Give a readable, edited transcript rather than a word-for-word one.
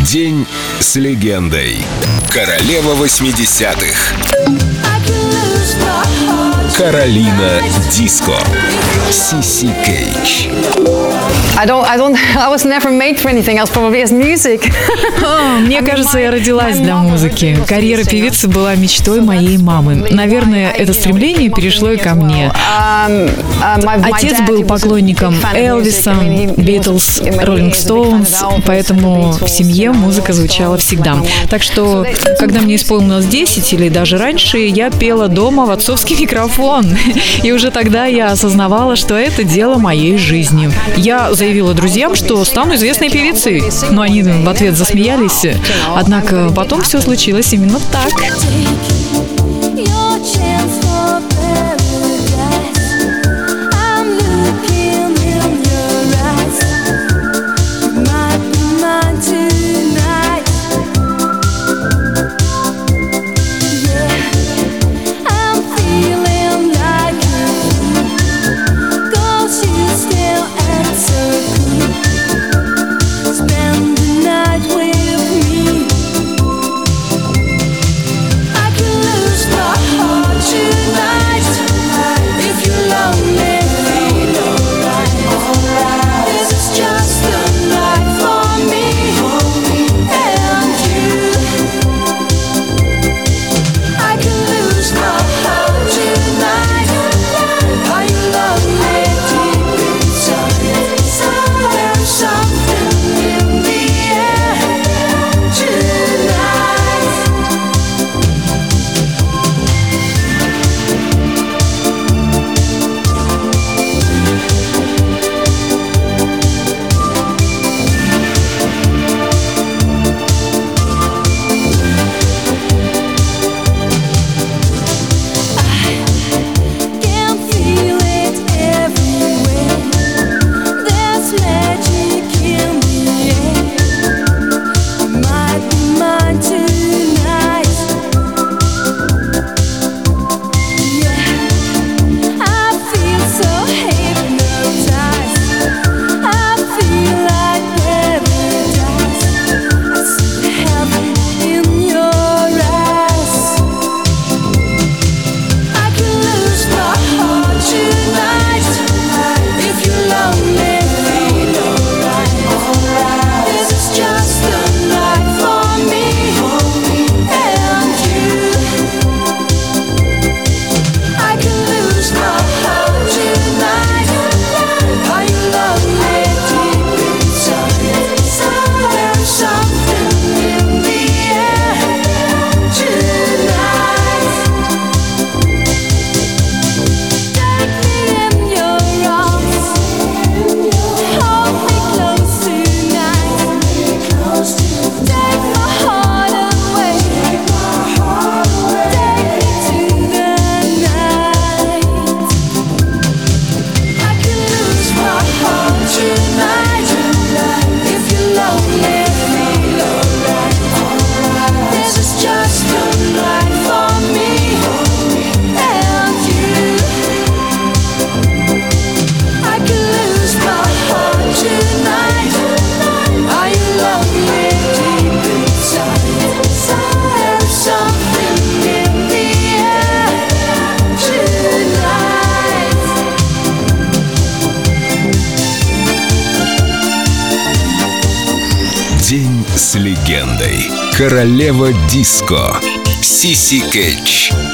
День с легендой. Королева 80-х. Каролина Диско. Сиси Кейдж. I was never made for anything else, probably as music. Мне кажется, я родилась для музыки. Карьера певицы была мечтой моей мамы. Наверное, это стремление перешло и ко мне. Отец был поклонником Элвиса, Битлз, Роллинг Стоунс, поэтому в семье музыка звучала всегда. Так что, когда мне исполнилось 10 или даже раньше, я пела дома в отцовский микрофон. И уже тогда я осознавала, что это дело моей жизни. Я заявила друзьям, что стану известной певицей, но они в ответ засмеялись. Однако потом все случилось именно так. День с легендой. Королева Диско. Сиси Кейдж.